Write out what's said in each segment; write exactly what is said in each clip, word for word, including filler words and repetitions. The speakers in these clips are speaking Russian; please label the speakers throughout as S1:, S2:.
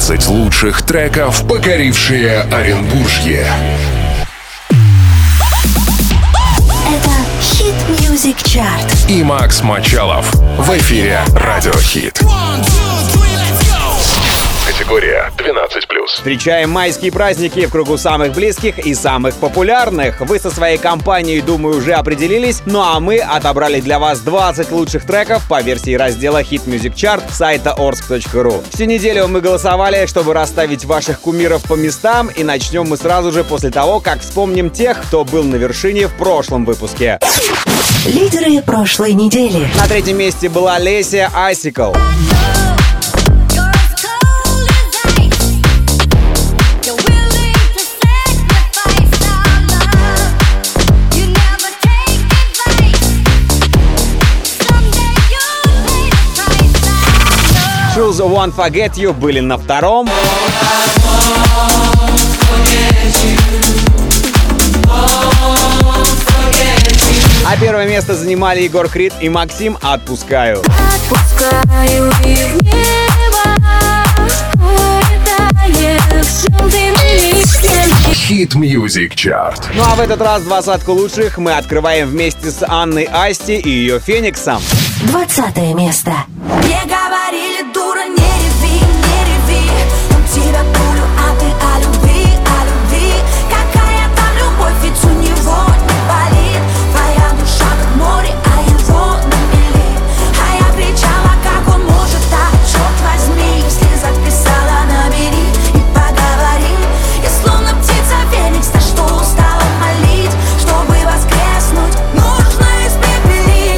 S1: двадцать лучших треков, покорившие Оренбуржье.
S2: Это Hit Music Chart.
S1: И Макс Мочалов в эфире Радио Хит. Категория двенадцать плюс.
S3: Встречаем майские праздники в кругу самых близких и самых популярных. Вы со своей компанией, думаю, уже определились. Ну а мы отобрали для вас двадцать лучших треков по версии раздела Hit Music Chart сайта орск точка ру. Всю неделю мы голосовали, чтобы расставить ваших кумиров по местам. И начнем мы сразу же после того, как вспомним тех, кто был на вершине в прошлом выпуске.
S2: Лидеры прошлой недели.
S3: На третьем месте была Леся Icicle. Shoes Won't Forget You были на втором. А первое место занимали Егор Крид и Максим «Отпускаю».
S4: Отпускаю и в небо улетаешь, ты
S1: Hit Music Chart.
S3: Ну а в этот раз двадцатку лучших мы открываем вместе с Анной Асти и ее Фениксом.
S2: Двадцатое место.
S4: Мне говорили, дура, не реви, не реви. У тебя пулю, а ты о любви, о любви. Какая там любовь, ведь у него не болит. Твоя душа как море, а его на мели. А я кричала, как он может так, черт возьми. Если записала, набери и поговори. Я словно птица Феникс, на что устала молить. Чтобы воскреснуть, нужно испепелить.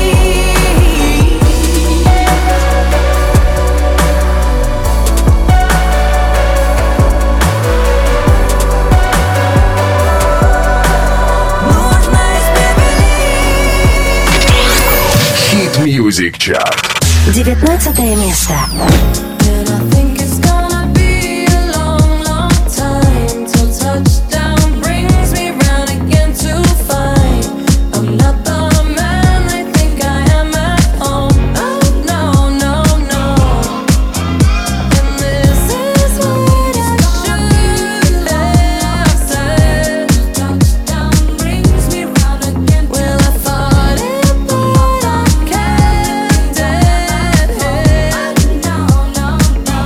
S1: Hit Music Chart.
S2: Девятнадцатое место.
S4: And I think it's gonna be a long, long time till touchdown brings me round again to find I'm not the man I think I am at home. Oh no, no, no. And this is what I should have said. Touchdown brings me round again. Well, I thought it, but I can't dead head. No, no, no.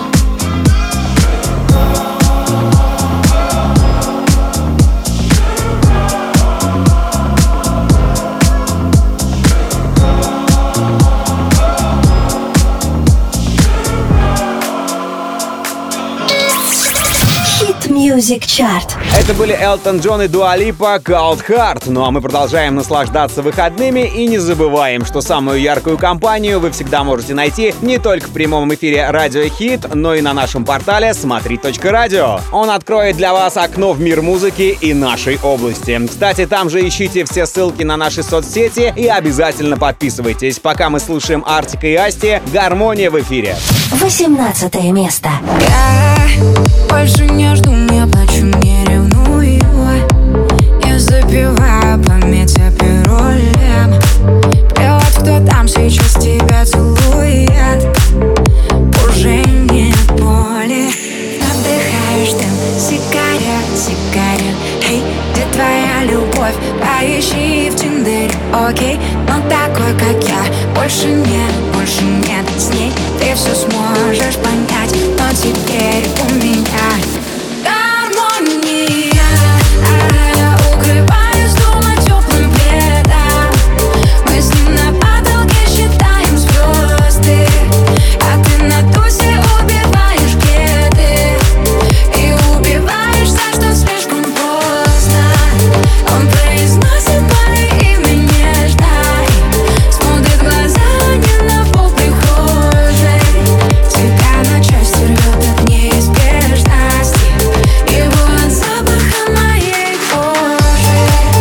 S2: Hit Music Chart.
S3: Это были Элтон Джон и Дуа Липа «Cold Heart». Ну а мы продолжаем наслаждаться выходными и не забываем, что самую яркую компанию вы всегда можете найти не только в прямом эфире Радио Хит, но и на нашем портале смотри точка радио. Он откроет для вас окно в мир музыки и нашей области. Кстати, там же ищите все ссылки на наши соцсети и обязательно подписывайтесь. Пока мы слушаем Артика и Асти, «Гармония» в эфире.
S2: Восемнадцатое место.
S4: Я больше не жду, не плачу, не ревную. Я запиваю память о пироле. Плевать, кто там сейчас тебя целует. Уже нет боли. Вдыхаешь дым сигарет, сигарет. Эй, где твоя любовь? Поищи в Тиндере, окей. Но такой, как я, больше нет, больше нет. С ней ты все сможешь понять. Но теперь у меня гармония. А я укрываюсь дома теплым пледом. Мы с ним на потолке считаем звезды. А ты на тусе убиваешь кеды. И убиваешь за что слишком поздно. Он произносит мое имя нежно. Смотрит в глаза не на пол прихожей. Тебя на части рвет от неизбежности. Его от запаха моей кожи.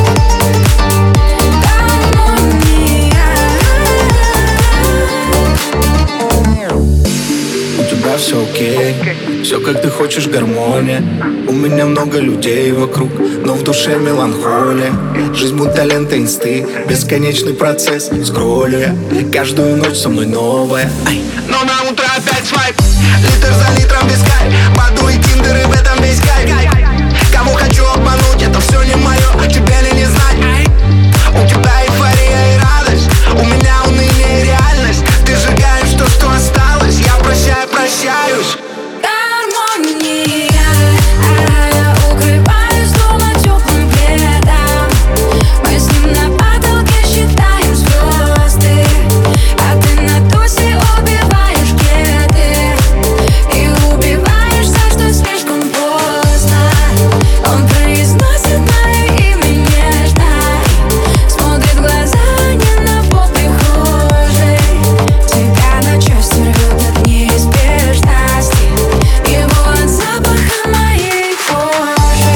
S4: Гармония.
S5: У тебя все окей, все как ты хочешь, гармония. У меня много людей вокруг, но в душе меланхолия. Жизнь будто лента инсты, бесконечный процесс. Скроллю я, каждую ночь со мной новая. Ай. Но на утро опять свайп. Литр за литром без кайф. Баду и Тиндер, и в этом весь кайф. Кого хочу обмануть, это все не мое, а тебе ли не знать? У тебя эйфория и радость, у меня уныние и реальность. Ты сжигаешь то, что осталось, я прощаю, прощаюсь.
S4: Гармония, я укрываюсь дома теплым пледом. Мы с ним на потолке считаем звезды, а ты на тусе убиваешь кеды и убиваешь за что слишком поздно. Он произносит мое имя нежно, смотрит в глаза не на пол прихожей. Тебя на части рвет от неизбежности, его от запаха моей кожи.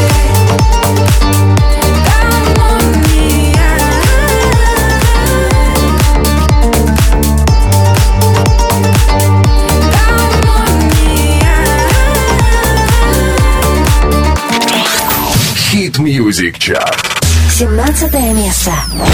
S4: Гармония.
S1: Hit Music Chart.
S2: семнадцатое место.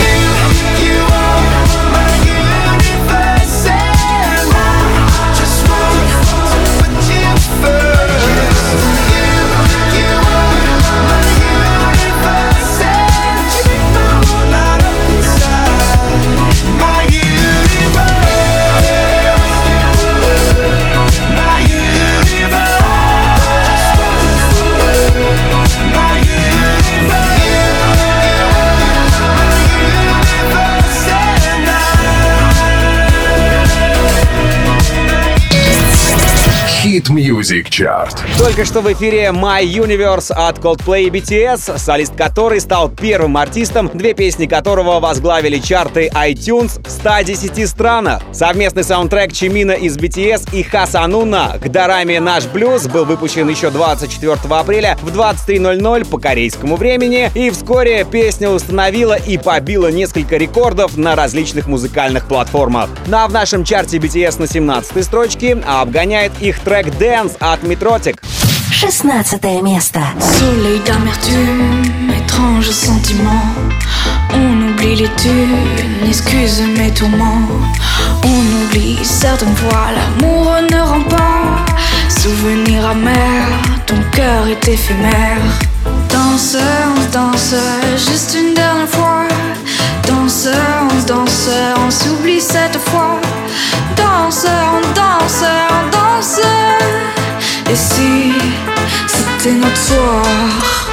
S1: Hit Music Chart.
S3: Только что в эфире My Universe от Coldplay и би ти эс, солист которой стал первым артистом, две песни которого возглавили чарты iTunes в ста десяти странах. Совместный саундтрек Чимина из би ти эс и Хасануна к дораме «Наш блюз» был выпущен еще двадцать четвёртого апреля в двадцать три ноль ноль по корейскому времени, и вскоре песня установила и побила несколько рекордов на различных музыкальных платформах. Ну а в нашем чарте би ти эс на семнадцатой строчке обгоняет их трек «Dance» от Metrotic.
S2: шестнадцатое место.
S6: Soleil d'amertume, étrange sentiment. On oublie les thunes, excuse mes tourments. On oublie certaines fois, l'amour ne rend pas. Souvenir amer, ton cœur est éphémère. Danse, on danse, juste une dernière fois. Danse, on danse, on s'oublie cette fois. Danse, on danse, on danse. Et si c'était notre soir?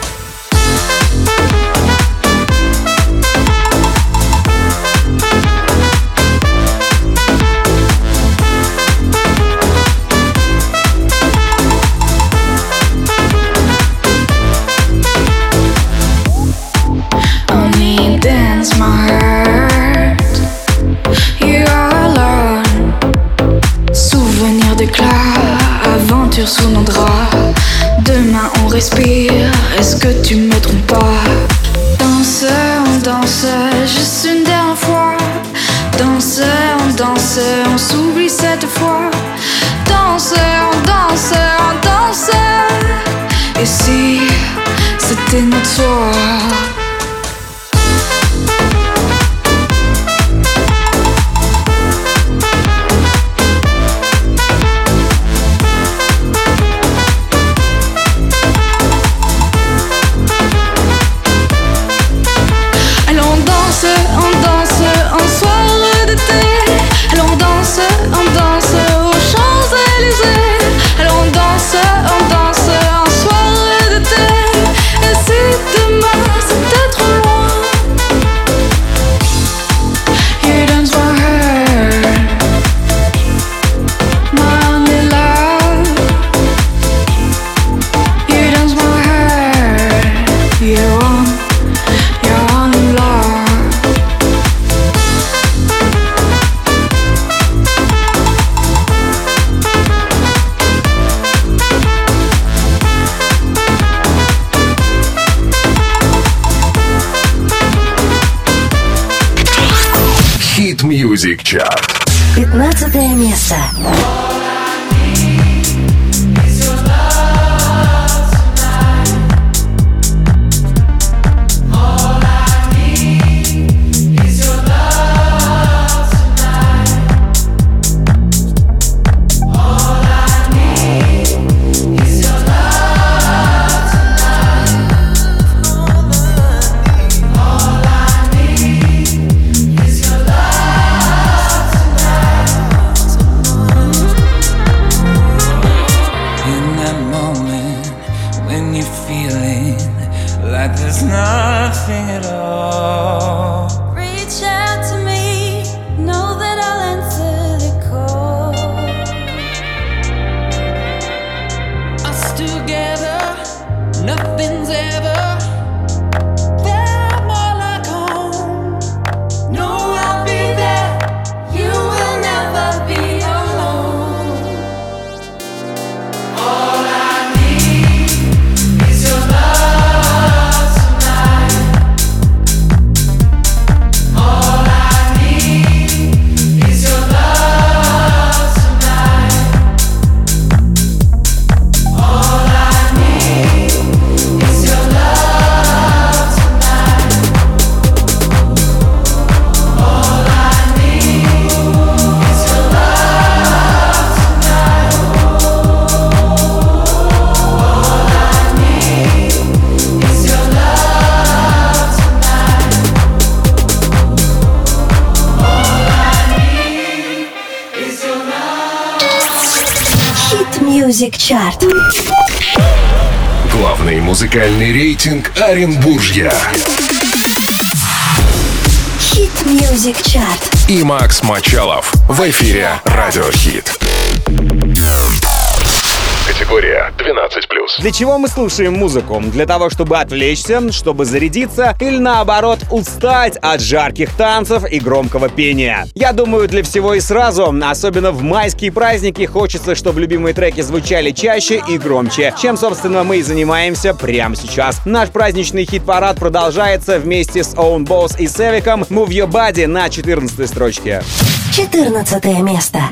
S6: Only dance my heart. You are alone. Souvenir d'éclat, aventure sous nos draps. Demain on respire, est-ce que tu me trompes pas? Danse, on danse, juste une dernière fois. Danse, on danse, on s'oublie cette fois. Danse, on danse, on danse. Et si c'était notre soir?
S1: Hit Music Chart.
S2: пятнадцатое место. Music Chart.
S1: Главный музыкальный рейтинг Оренбуржья.
S2: Hit Music Chart.
S1: И Макс Мочалов в эфире Радио Хит. Категория двенадцать плюс.
S3: Для чего мы слушаем музыку? Для того, чтобы отвлечься, чтобы зарядиться или наоборот устать от жарких танцев и громкого пения? Я думаю, для всего и сразу. Особенно в майские праздники хочется, чтобы любимые треки звучали чаще и громче, чем, собственно, мы и занимаемся прямо сейчас. Наш праздничный хит-парад продолжается вместе с Own Boss и Севиком. Move Your Body на четырнадцатой строчке.
S2: четырнадцатое место.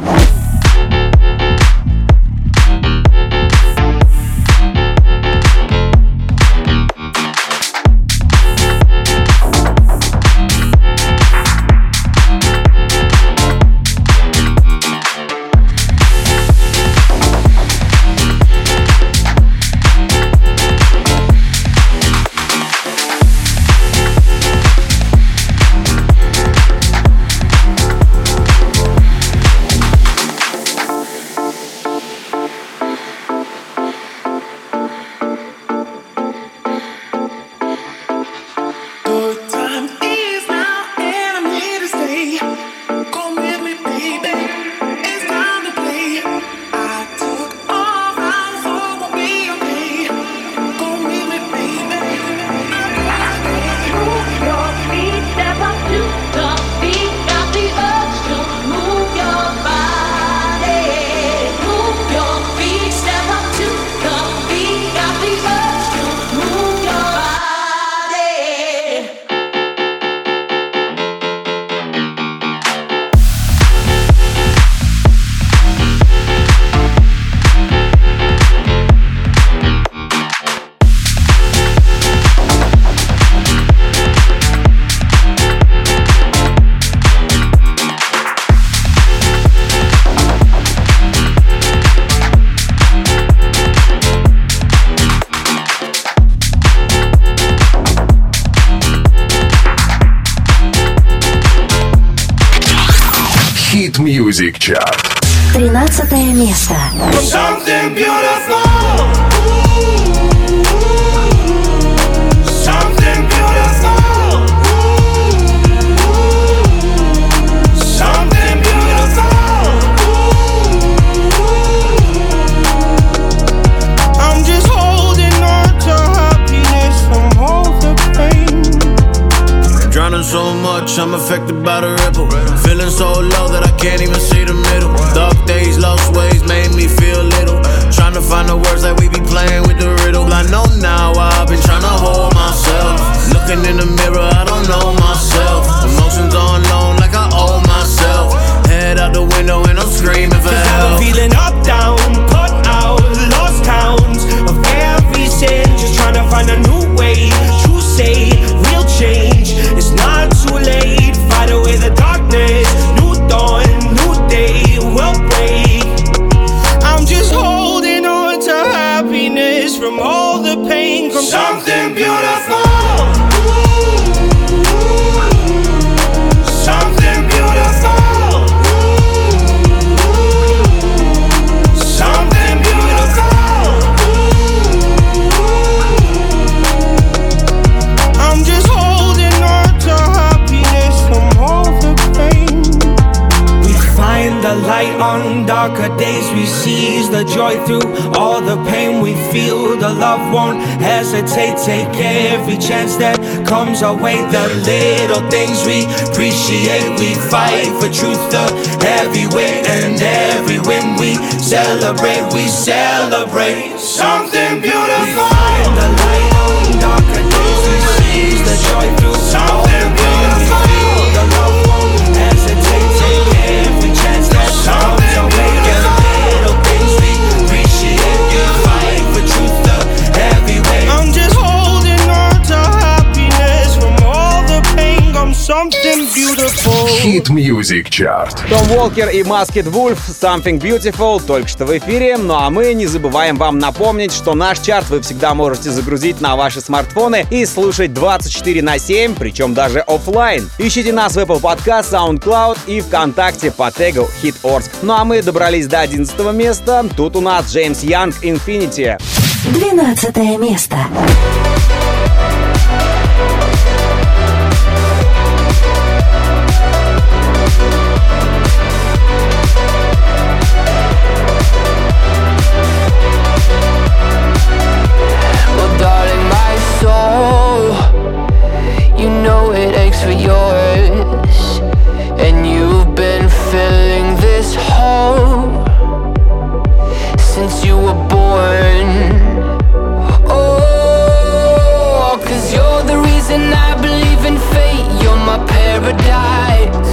S1: Music Chart.
S2: тринадцатое место.
S5: Something beautiful. Something beautiful. Something beautiful. I'm just holding on to happiness from all the pain. Drowning so much, I'm affected by the ripple. Feeling so low that I can't even see the middle. Dark days, lost ways made me feel little. Trying to find the words that we be playing with the riddle. I know now I've been trying to hold myself. Looking in the mirror, I don't know myself. Emotions on loan like I owe myself. Head out the window and I'm screaming for help. Cause I've been feeling up, down, put out, lost counts of every sin. Just trying to find a new way to say real change. It's not too late, fight away the darkness. New dawn, new day will break. I'm just holding on to happiness from all the pain. From something beautiful. Something beautiful. Something beautiful. I'm just holding on to happiness from all the pain. We find the light on darker days. We seize the joy through all the pain we feel. The love won't hesitate. Take every chance that comes our way. The little things we appreciate. We fight for truth, the heavy weight. And every win we celebrate. We celebrate something beautiful. We find the light on darker days. We seize the joy through something beautiful. The love won't hesitate. Take every chance that comes our way. The little things we appreciate. We fight for truth, the heavy weight. I'm just holding on to happiness from all the pain. I'm something beautiful.
S1: Hit Music Chart.
S3: Том Уолкер и Masked Wolf Something Beautiful только что в эфире. Ну а мы не забываем вам напомнить, что наш чарт вы всегда можете загрузить на ваши смартфоны и слушать двадцать четыре на семь, причем даже офлайн. Ищите нас в Apple Podcast, SoundCloud и ВКонтакте по тегу Hit Орск. Ну а мы добрались до одиннадцатого места. Тут у нас Джеймс Янг Infinity.
S2: Двенадцатое место.
S7: You know it aches for yours, and you've been filling this hole since you were born. Oh, 'cause you're the reason I believe in fate. You're my paradise,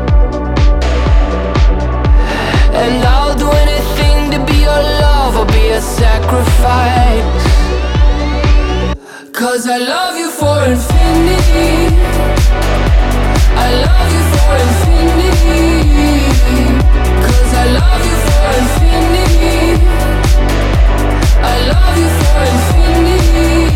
S7: and I'll do anything to be your love or be a sacrifice. 'Cause I love you for infinity, I love you for infinity, 'cause I love you for infinity, I love you for infinity.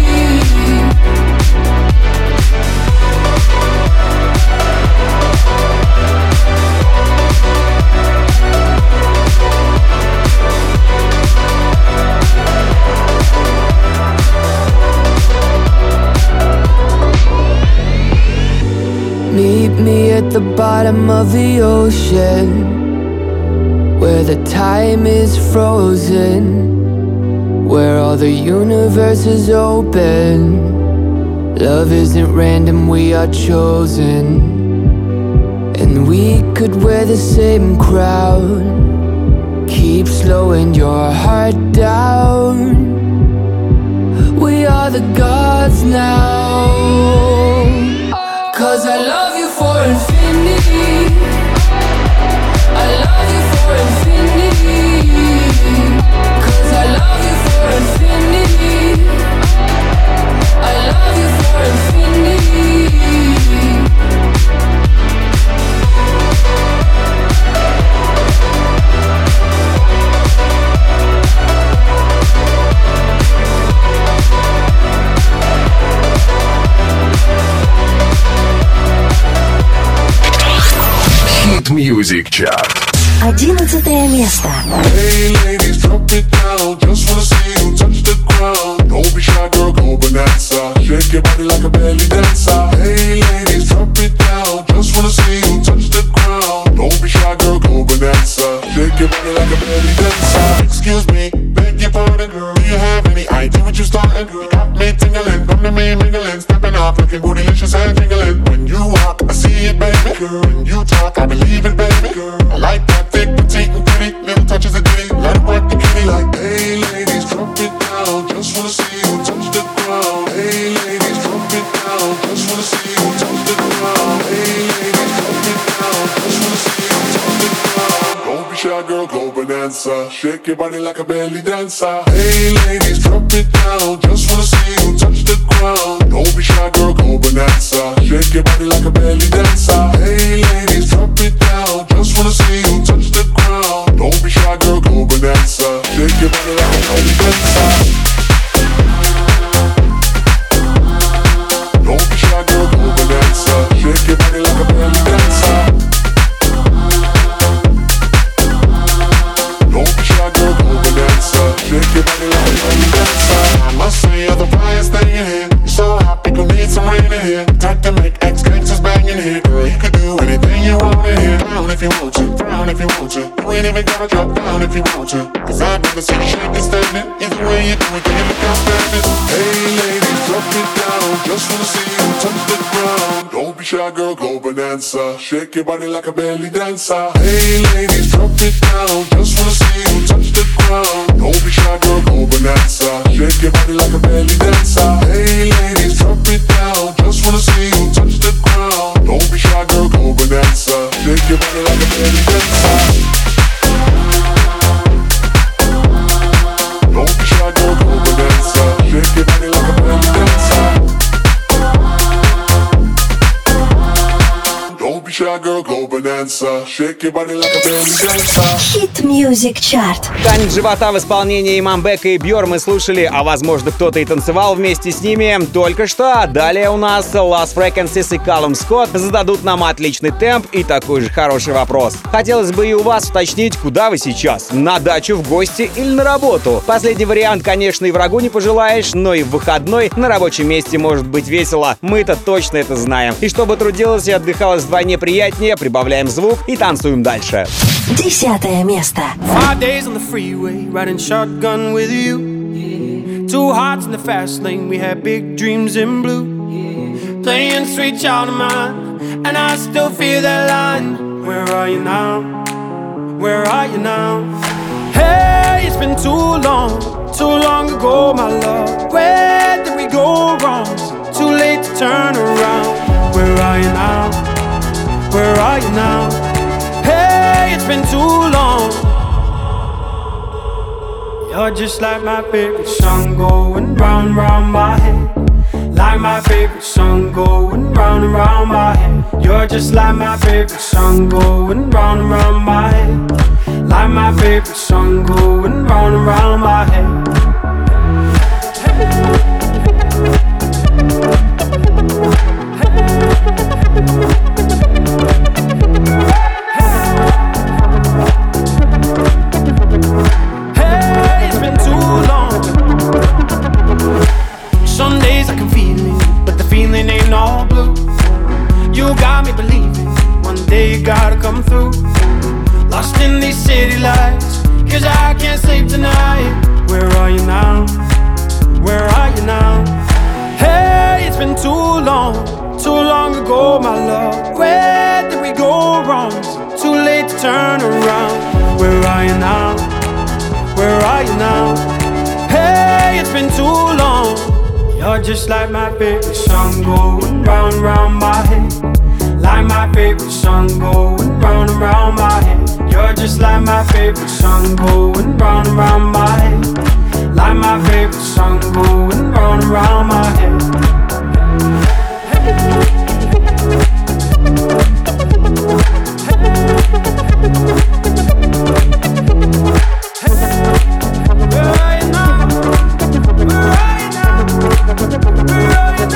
S7: Meet me at the bottom of the ocean, where the time is frozen, where all the universe is open. Love isn't random, we are chosen, and we could wear the same crown. Keep slowing your heart down. We are the gods now. 'Cause I love you for infinity, I love you for infinity, 'cause I love you for infinity, I love you for infinity.
S1: Hit Music Chart.
S2: Одиннадцатое место.
S8: Hey ladies, drop it down. Just wanna see you touch the ground. Don't be shy, girl, go bonanza. Shake your body like a belly dancer. Hey ladies, drop it down. Just wanna see you touch the ground. Don't be shy, girl, go bonanza. Shake your body like a belly dancer. Excuse me, beg your pardon, girl. Do you have any idea what you starting? Girl, got me tingling, come to me mingling, stepping off, looking bootylicious and jingling. When you walk, I see it, baby. Girl, when you talk, I believe it, baby. Girl, I like that thick, petite, and pretty. Little touches of ditty, let it work the kitty. Like, hey ladies, drop it down. Just wanna see you touch the ground. Hey ladies, drop it down. Just wanna see you touch the ground. Hey ladies, drop it down. Just wanna see you touch the ground. Don't be shy, girl, go bonanza. Shake your body like a belly dancer. Hey ladies, drop it down. Just wanna see you touch the ground. Don't be shy, girl, go bonanza. Shake your body like a belly dancer. Hey ladies, drop it down. Just wanna see you touch the ground. Don't be shy, girl, go bonanza. Shake your body like a belly dancer. Don't be shy, girl, go bonanza. Shake your body like a belly dancer. Don't be shy, girl, go bonanza. Shake your body like a belly dancer. I must say you're the flyest thing in here. You're so hot, people need some rain in here. Time to make ex-gangsters bang in here. Girl, you could do anything you want in here. Down if you want to, down if you want to. You ain't even gotta drop down if you want to. 'Cause I'd rather see you shaking, standing. Either way you do it, then you look outstanding. Hey ladies, drop it down. Just wanna see you touch the ground. Don't be shy, girl, go bonanza. Shake your body like a belly dancer. Hey ladies, drop it down. Just wanna see you touch the ground. Don't be shy, girl, go bonanza. Shake your body like a belly dancer. Hey ladies, drop it down. Just wanna see you touch the ground. Don't be shy, girl, go bonanza. Shake your body like a belly dancer. Don't be shy, girl, go bonanza. Shake your body like a belly dancer. Don't be shy, shy girl, go bonanza. Shake your body like a belly dancer.
S2: Hit Music Chart.
S3: Танец живота в исполнении Мамбека и Бьор мы слушали, а возможно кто-то и танцевал вместе с ними только что. Далее у нас Lost Frequencies и Callum Scott зададут нам отличный темп и такой же хороший вопрос. Хотелось бы и у вас уточнить, куда вы сейчас? На дачу, в гости или на работу? Последний вариант, конечно, и врагу не пожелаешь, но и в выходной на рабочем месте может быть весело. Мы-то точно это знаем. И чтобы трудилось и отдыхалось вдвойне приятнее, прибавляем звук и танцуем дальше.
S2: Десятое место.
S9: Five days on the freeway, riding shotgun with you. Yeah. Two hearts in the fast lane, we had big dreams in blue. Yeah. Playing sweet child of mine, and I still feel that line. Where are you now? Where are you now? Hey, it's been too long, too long ago, my love. Where did we go wrong? Too late to turn around. Where are you now? Where are you now? Hey, it's been too long. You're just like my favorite song going round, round my head. Like my favorite song going round and round my head. You're just like my favorite song going round and round my head. Like my favorite song going round and round my head. Hey, it's been too long. Some days I can feel it, but the feeling ain't all blue. You got me believing one day you gotta come through. Lost in these city lights, cause I can't sleep tonight. Where are you now? Where are you now? Hey, it's been too long, too long ago, my love. Where did we go wrong? Too late to turn around. Where are you now? Where are you now? Hey, it's been too long. You're just like my favorite song going round, round my head. Like my favorite song going round and round my head. You're just like my favorite song going round and round my head. Like my favorite song going round and round my head. Where are you now? Where are you now? Where are you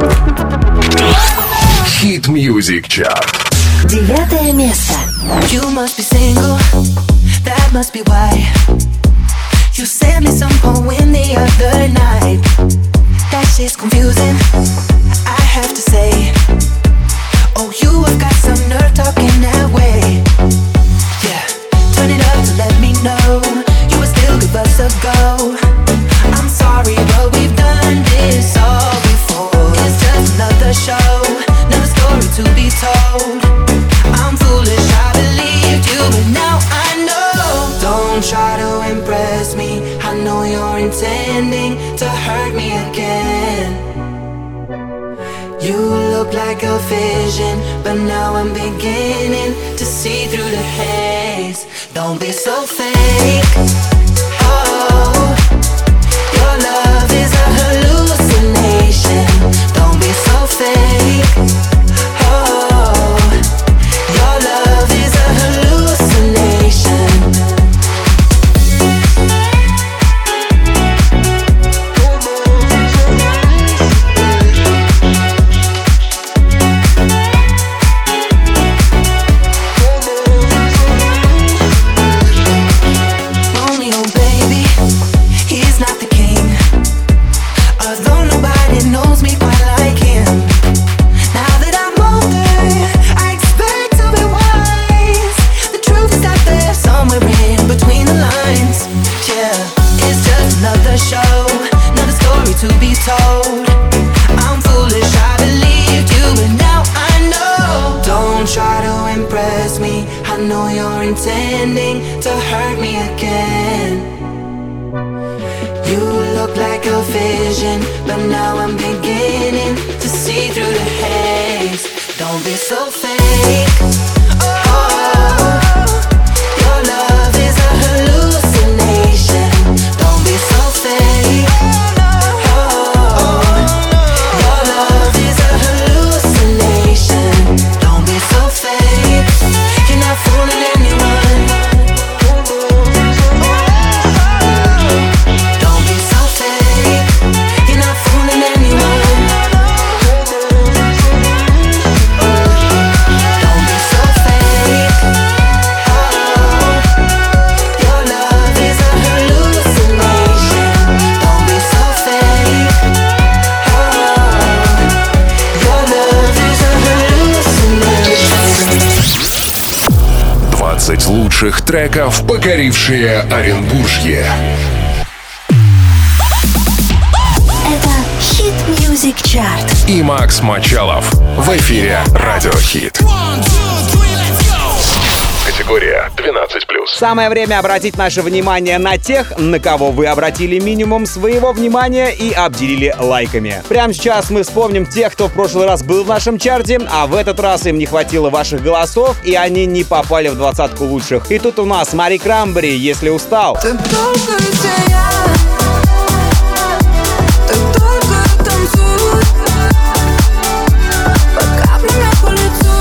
S9: now?
S1: Hit Music Chart.
S2: Девятое место.
S10: You must be single, that must be why you sent me some poem the other night. That shit's confusing, I have to say. Oh, you have got some nerve talking that way. Yeah, turn it up to let me know you would still give us a go. I'm sorry, but we've done this all before. It's just another show, another story to be told. I'm foolish, I believed you, but now I know. Don't try to impress me, I know you're intending to hurt me again. You look like a vision, but now I'm beginning to see through the haze. Don't be so fake. Oh, your love is a hallucination. Don't be so fake. Oh, your love is a hallucination. Romeo, baby, he's not the king. Although nobody knows me quite like him. Now that I'm older, I expect to be wise. The truth is out there somewhere in between the lines. Yeah, it's just another show, another story to be told. I'm foolish, I believed you, but now I know. Don't try to impress me, I know you're intending to hurt me again. You look like a vision, but now I'm beginning to see through the haze. Don't be so fake. Oh, your love is a hallucination. Don't be so fake. Oh, your love is a hallucination. Don't be so fake.
S1: лучших треков, покорившие Оренбуржье.
S2: Это Hit Music Chart.
S1: И Макс Мочалов в эфире Радио Хит. Категория двенадцать плюс.
S3: Самое время обратить наше внимание на тех, на кого вы обратили минимум своего внимания и обделили лайками. Прямо сейчас мы вспомним тех, кто в прошлый раз был в нашем чарте, а в этот раз им не хватило ваших голосов, и они не попали в двадцатку лучших. И тут у нас Мари Крамбери, «Если устал».
S4: Ты только я, ты только танцуй, под каплями по лицу,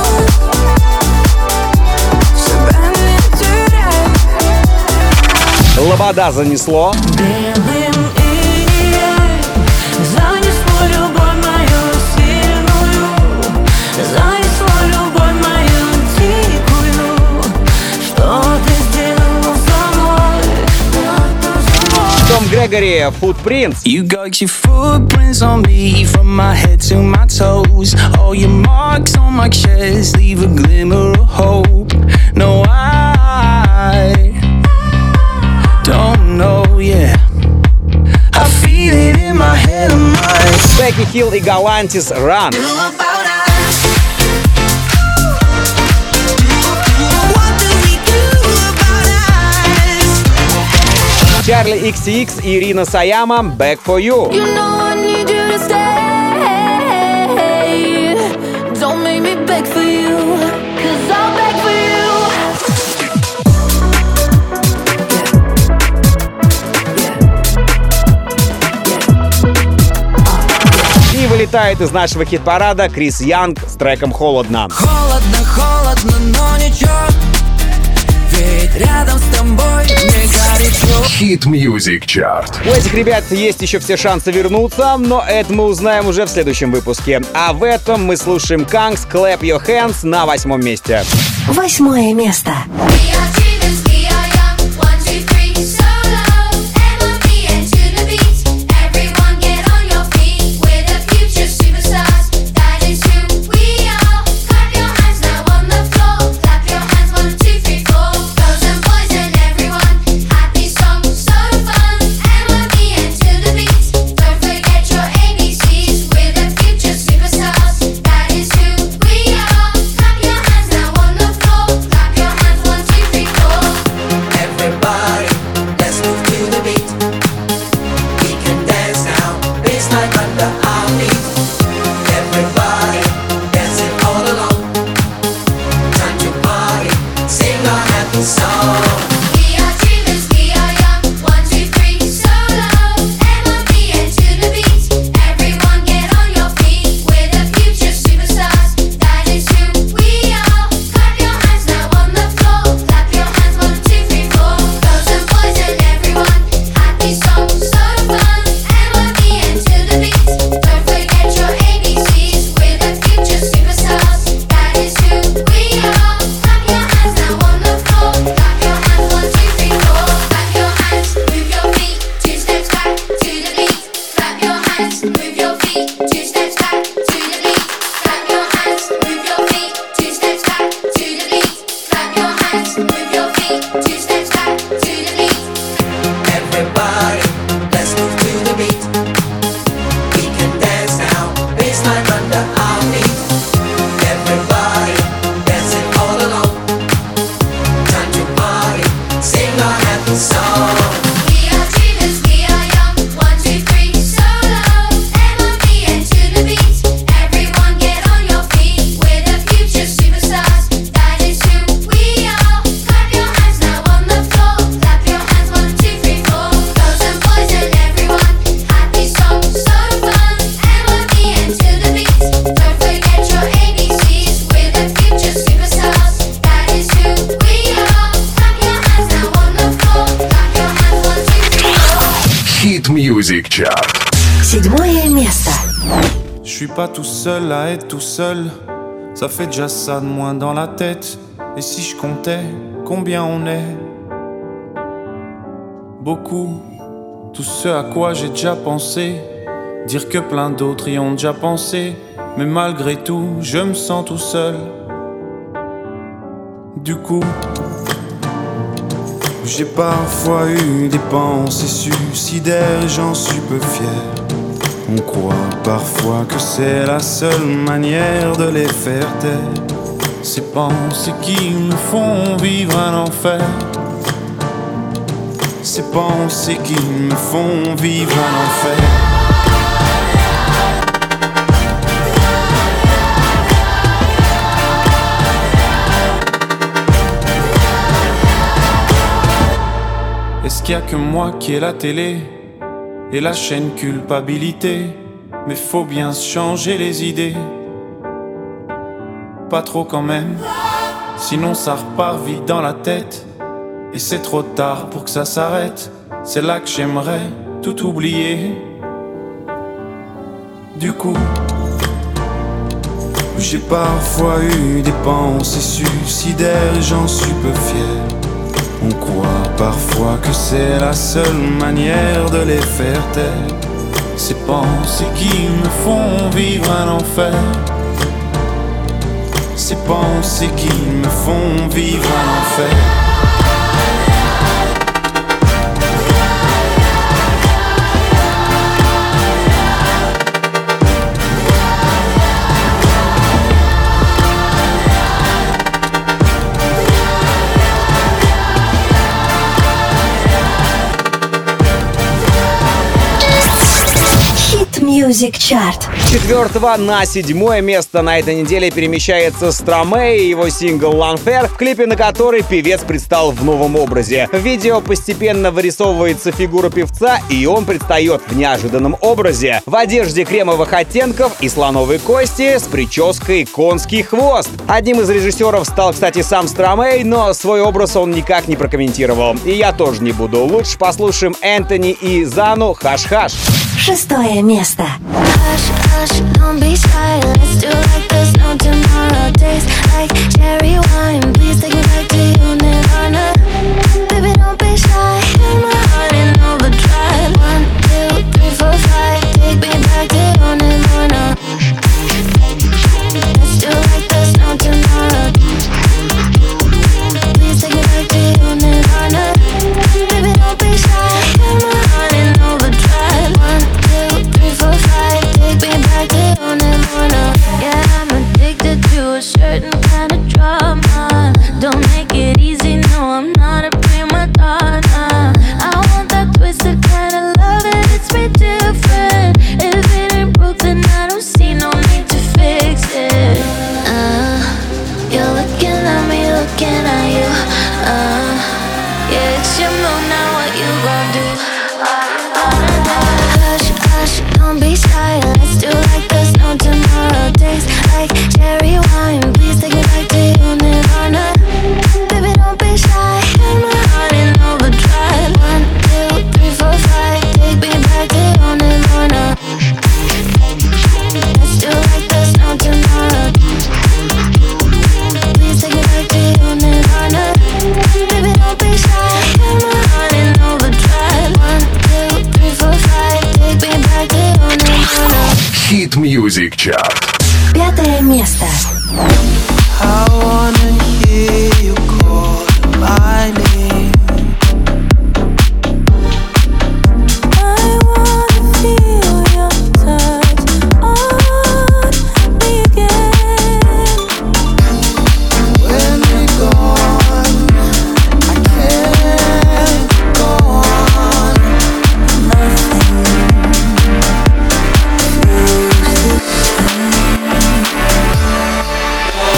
S4: себя не теряй.
S3: Лобода занесло.
S4: Белым инием занесло любовь мою сильную, занесло любовь мою дикую. Что ты сделал со мной?
S3: Том Грегори, «Footprints».
S11: You got your footprints on me from my head to my toes. All your marks on my chest leave a glimmer of hope. No, I don't know, yeah. I feel it in my head and mind.
S3: Бекки Хилл и Галантис, «Run». Чарли икс ти икс и Ирина Саяма, «Back for You».
S4: You know I need you to stay. Don't make me beg for you, 'cause I'll beg for you.
S3: И вылетает из нашего хит-парада Крис Янг с треком «Холодно».
S11: Холодно, холодно, но ничего. Ведь рядом с тобой мне горячо.
S1: Hit Music Chart.
S3: У этих ребят есть еще все шансы вернуться, но это мы узнаем уже в следующем выпуске. А в этом мы слушаем Kangs «Clap Your Hands» на восьмом месте.
S2: Восьмое место.
S1: Music Chart.
S2: Седьмое место.
S12: Je suis pas tout seul à être tout seul. Ça fait déjà ça de moins dans la tête. Et si je comptais combien on est? Beaucoup. Tout ce à quoi j'ai déjà pensé. Dire que plein d'autres y ont déjà pensé. Mais malgré tout, je me sens tout seul. Du coup, J'ai parfois eu des pensées suicidaires, j'en suis peu fier. On croit parfois que c'est la seule manière de les faire taire. Ces pensées qui me font vivre un enfer. Ces pensées qui me font vivre un enfer. Est-ce qu'il y a que moi qui ai la télé et la chaîne culpabilité? Mais faut bien changer les idées. Pas trop quand même, sinon ça repart vite dans la tête. Et c'est trop tard pour que ça s'arrête. C'est là que j'aimerais tout oublier. Du coup, j'ai parfois eu des pensées suicidaires, j'en suis peu fier. On croit parfois que c'est la seule manière de les faire taire. Ces pensées qui me font vivre un enfer. Ces pensées qui me font vivre un enfer.
S2: Music Chart.
S3: С четвертого на седьмое место на этой неделе перемещается Стромэй и его сингл «L'Enfer», в клипе на который певец предстал в новом образе. В видео постепенно вырисовывается фигура певца, и он предстает в неожиданном образе. В одежде кремовых оттенков и слоновой кости с прической «Конский хвост». Одним из режиссеров стал, кстати, сам Стромэй, но свой образ он никак не прокомментировал. И я тоже не буду. Лучше послушаем Энтони и Зану «Хаш-хаш».
S2: Шестое место.
S4: Hush, hush, don't be shy. Let's do like there's no tomorrow. Taste like cherry wine. Please take me back to you, Nirvana. Baby, don't be shy. Feel my heart in overdrive. One, two, three, four, five. Take me back to you, Nirvana. Let's do like there's no tomorrow. Please take me back to you, Nirvana. Baby, don't be shy. Feel my heart in overdrive. One, two, three, four, five. Take me back to you, Nirvana. Yeah, I'm addicted to a certain kind of drama. Don't make it easy, no, I'm not a prima donna. I want that twisted kind of love and it's way different. If it ain't broke, then I don't see no need to fix it. Uh, you're looking at me, looking at you. Uh, yeah, it's your move, now what you gon' do? Hush, hush, don't be shy. Let's do like there's no tomorrow. Taste like cherry wine. Please take me back to you, Nirvana. Baby, don't be shy. Feel my heart in overdrive. One, two, three, four, five. Take me back to you, Nirvana. Let's do like there's no tomorrow. Please take me back to you, Nirvana. Baby, don't be shy. Feel my heart in overdrive. One, two, three, four, five. Take me back to you, Nirvana.
S1: Hit Music Chart.
S2: Пятое место.
S11: I wanna hear you call my name.
S4: I wanna feel your touch on me again.
S11: When we're gone, I can't go on. Nothing feels the same.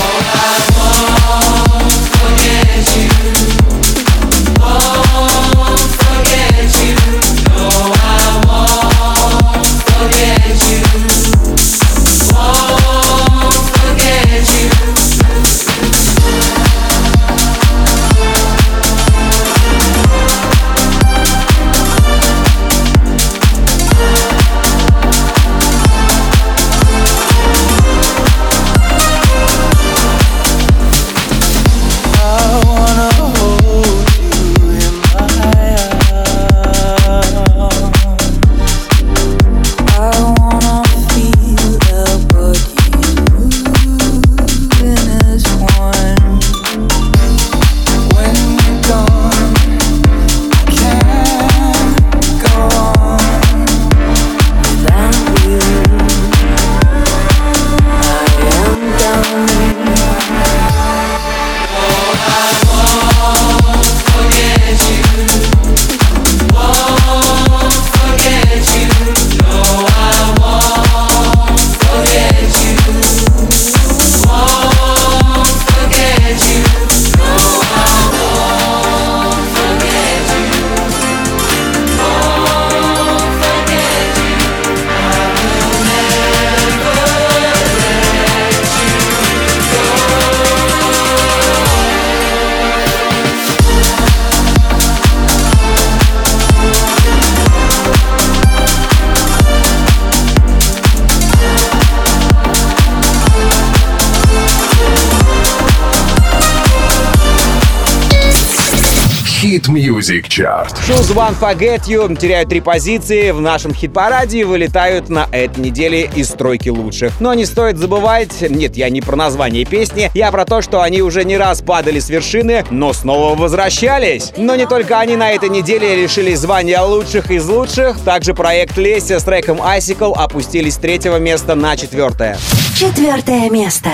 S1: Hit Music Chart.
S3: Choose One Forget You теряют три позиции в нашем хит-параде и вылетают на этой неделе из стройки лучших. Но не стоит забывать, нет, я не про название песни, я про то, что они уже не раз падали с вершины, но снова возвращались. Но не только они на этой неделе лишились звания лучших из лучших, также проект Леся с треком Icicle опустились с третьего места на четвертое.
S2: Четвертое место.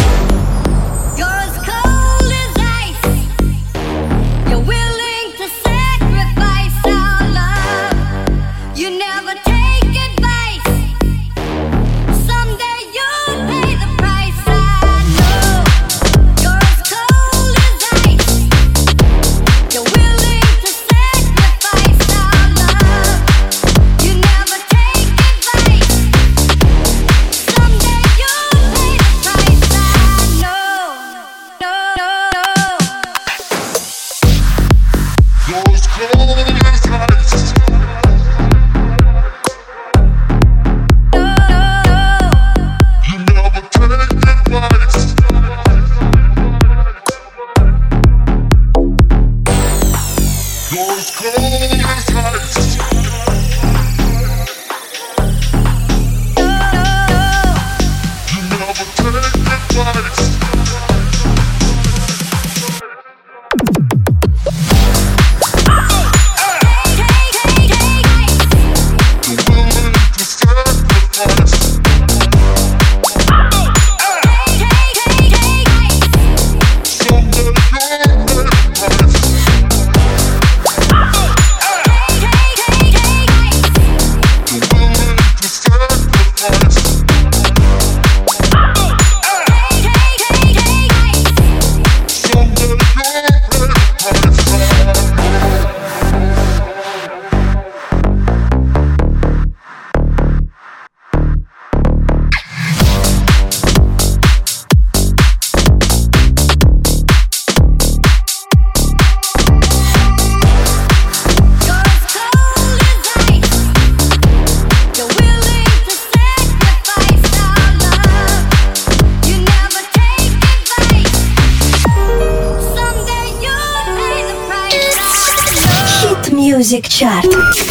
S2: Music Chart.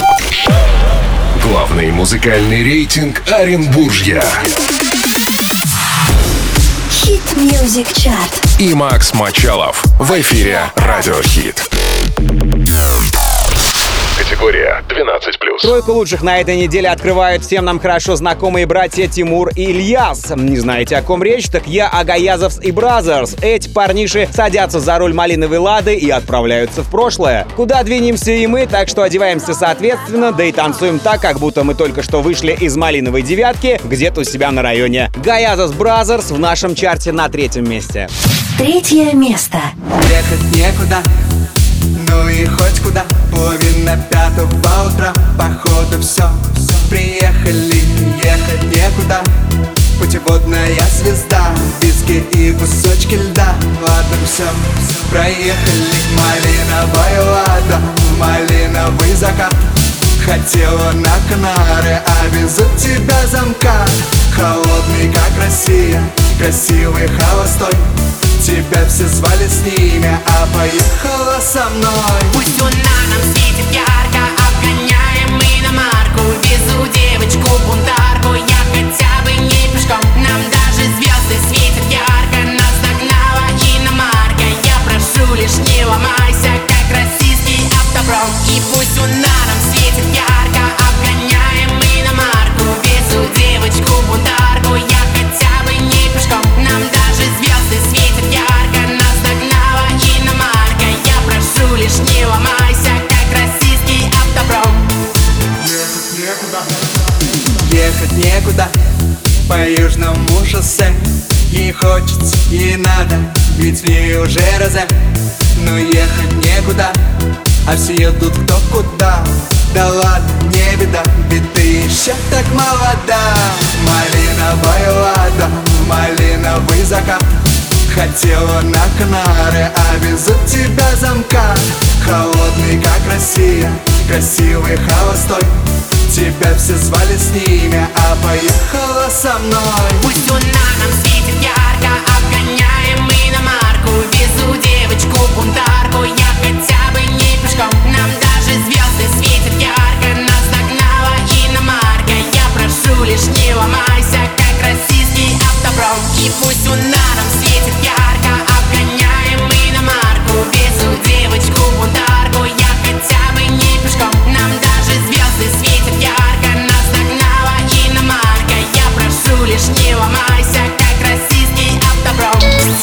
S1: Главный музыкальный рейтинг Оренбуржья.
S2: Hit Music Chart.
S1: И Макс Мочалов в эфире Радио Хит. Категория двенадцать плюс.
S3: Тройку лучших на этой неделе открывают всем нам хорошо знакомые братья Тимур и Ильяс. Не знаете, о ком речь? Так я о Гаязовс и Бразерс. Эти парниши садятся за руль малиновой лады и отправляются в прошлое. Куда двинемся и мы, так что одеваемся соответственно, да и танцуем так, как будто мы только что вышли из малиновой девятки где-то у себя на районе. Гаязовс Бразерс в нашем чарте на третьем месте.
S2: Третье место.
S5: Ехать некуда, ну и хоть куда. Половина пятого утра, походу все, все. Приехали, ехать некуда. Путеводная звезда, виски и кусочки льда. Ладно, все, все. Проехали, малиновая лада, малиновый закат. Хотела на Канары, а везут тебя замкат. Холодный, как Россия, красивый, холостой. Тебя все звали с ними, а поехала со мной.
S13: Пусть луна нам светит ярко, обгоняем мы иномарку. Везу девочку-бунтарку, я хотя бы не пешком. Нам даже звезды светят ярко, нас догнала иномарка. Я прошу, лишь не ломайся, как российский автопром. И пусть луна нам светит ярко, обгоняем мы иномарку. Везу девочку-бунтарку, я хотя бы не пешком. Нам даже звезды светят ярко, нас догнала иномарка. Я прошу, лишь не ломайся, как российский автопром.
S5: Ехать некуда, ехать некуда, по южному шоссе. Ей хочется, ей надо, ведь в ней уже розе. Но ехать некуда, а все едут кто куда. Да ладно, не беда, ведь ты еще так молода. Малиновая лада, малиновый закат. Хотела на Канары, а везут тебя замкат. Холодный, как Россия, красивый, холостой. Тебя все звали с ними, а поехала со мной.
S13: Пусть луна нам светит ярко, обгоняем мы иномарку. везу девочку-бунтарку. Я хотя бы не пешком, нам даже звезды светят ярко. Нас догнала иномарка, я прошу, лишь не ломайся, как российский автопром. И пусть луна нам светит ярко, обгоняем иномарку. Везу девочку-бунтарку, я хотя бы не пешком, нам даже звезды светят ярко. Нас догнала иномарка, я прошу, лишь не ломайся, как российский автопром.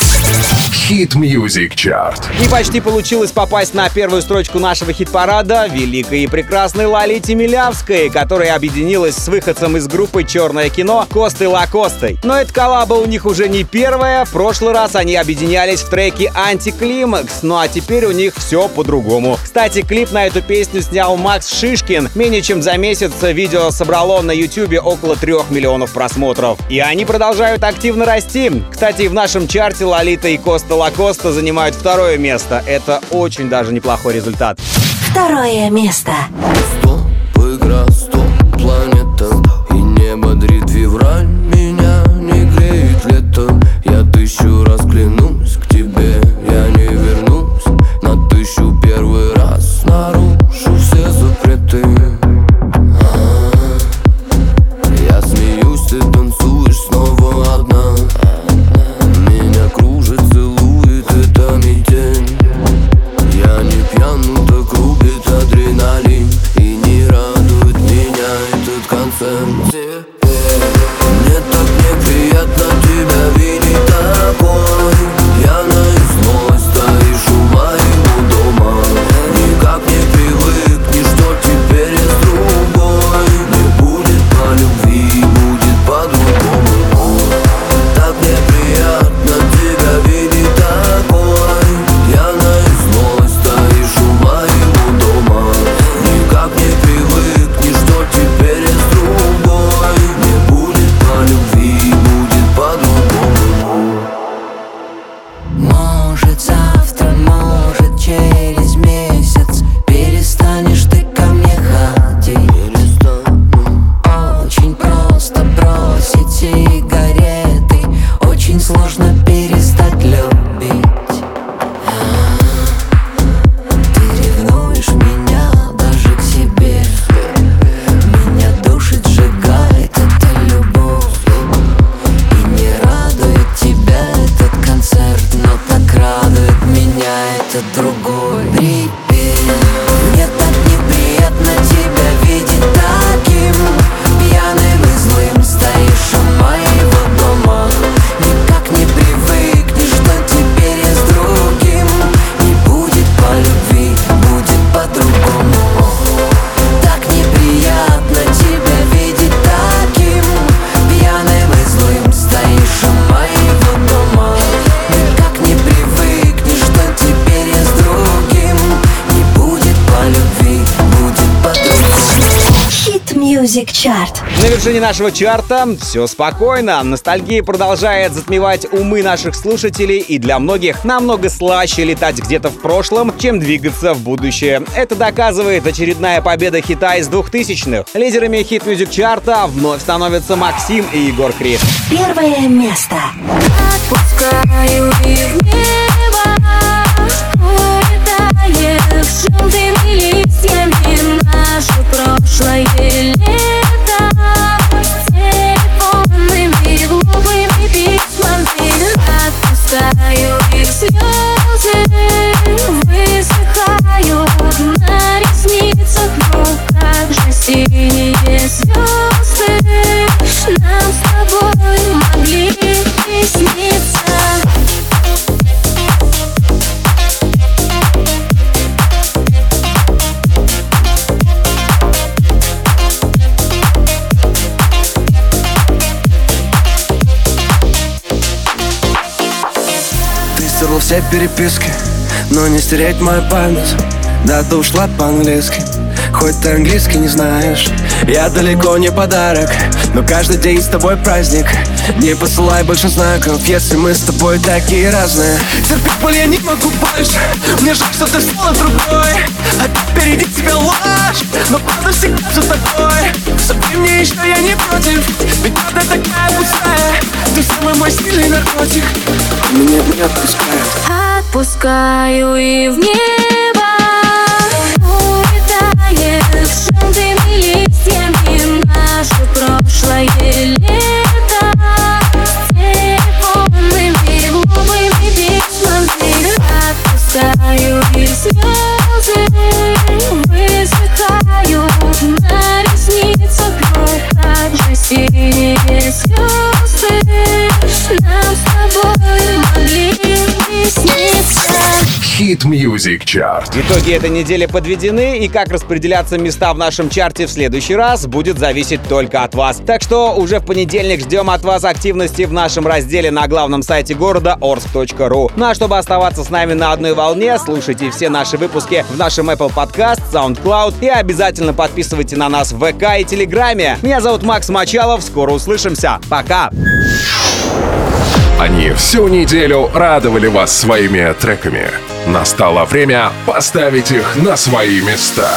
S1: Hit Music Chart.
S3: И почти получилось попасть на первую строчку нашего хит-парада великой и прекрасной Лолите Милявской, которая объединилась с выходцем из группы «Черное кино» Костой Лакостой. Но эта коллаба у них уже не первая. В прошлый раз они объединялись в треке «Антиклимакс», ну а теперь у них все по-другому. Кстати, клип на эту песню снял Макс Шишкин. Менее чем за месяц видео собрало на ютубе около трех миллионов просмотров. И они продолжают активно расти. Кстати, в нашем чарте Лолита и Коста Лакоста занимают второе место. Это очень даже неплохой результат.
S2: Второе место.
S14: Стоп, игра, стоп, планета. И не бодрит февраль, меня не греет лето. Я тысячу раз клянусь, к тебе я не вернусь. На тысячу первый раз нарушу все запреты. А-а-а. Я смеюсь, ты танцуешь снова одна. Меня кружит, целует эта метель. Я не пьян, но так рубит адреналин. И не радует меня этот концерт. Мне так неприятно тебя видеть такой. Пьяной злой стоишь у моего дома. Никак не привыкнешь, что теперь я с другой. Не будет по любви, будет по-другому. Так неприятно тебя видеть такой. Пьяной злой стоишь у моего дома. Никак не привыкнешь, что теперь я с другой. Не будет по любви, будет по-другому. Может завтра, может через месяц перестанешь ты ко мне ходить. Очень просто бросить сигареты, очень сложно перестать любить. Ты ревнуешь меня даже к себе. Меня душит, сжигает эта любовь. И не радует тебя этот концерт, но так радует меня этот другой. Привет. Мне так неприятно тебя видеть таким. Пьяным и злым стоишь у моего дома. Никак не привыкнешь, что теперь я с другим. Не будет по любви, будет по-другому. Так неприятно тебя видеть таким. Пьяным и злым стоишь у моего дома. Никак не привыкнешь, что теперь я с другим. Не будет по любви, будет по-другому.
S2: Hit Music Chart.
S3: На вершине нашего чарта все спокойно. Ностальгия продолжает затмевать умы наших слушателей, и для многих намного слаще летать где-то в прошлом, чем двигаться в будущее. Это доказывает очередная победа хита из двухтысячных. Лидерами Hit Music чарта вновь становятся Максим и Егор Крид.
S2: Первое место.
S4: Отпускаю их в небо, улетая с желтыми листьями. Наше прошлое лето с телефонными глупыми письмами. Отпускаю их слезы, высыхают на ресницах. Ну как же синие звезды нам с тобой могли присниться.
S14: Стерла все переписки, но не стереть мою память. Да, ты ушла по-английски, хоть ты английский не знаешь. Я далеко не подарок, но каждый день с тобой праздник. Не посылай больше знаков, если мы с тобой такие разные. Терпеть боль я не могу больше, мне жаль, что ты стала другой. Опять впереди тебя ложь, но правда всегда за тобой. Забей мне еще, я не против, ведь правда такая пустая.
S9: Ты самый мой стильный наркотик. Меня не отпускает.
S6: Отпускаю и в небо улетает с желтыми листьями наше прошлое лето. С телефонными глупыми письмами отпускаю и слезы высыхают на ресницах. Как же синие звезды нам с тобой могли сниться.
S1: Hit Music Chart.
S3: Итоги этой недели подведены, и как распределяться места в нашем чарте в следующий раз будет зависеть только от вас. Так что уже в понедельник ждем от вас активности в нашем разделе на главном сайте города орск точка ру. Ну а чтобы оставаться с нами на одной волне, слушайте все наши выпуски в нашем Apple Podcast, SoundCloud и обязательно подписывайте на нас в ВК и Телеграме. Меня зовут Макс Мочалов, скоро услышимся. Пока!
S1: Они всю неделю радовали вас своими треками. Настало время поставить их на свои места.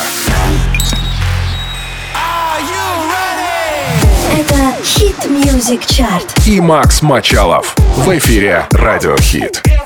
S2: Это Hit Music Chart.
S1: И Макс Мочалов в эфире Радио Хит.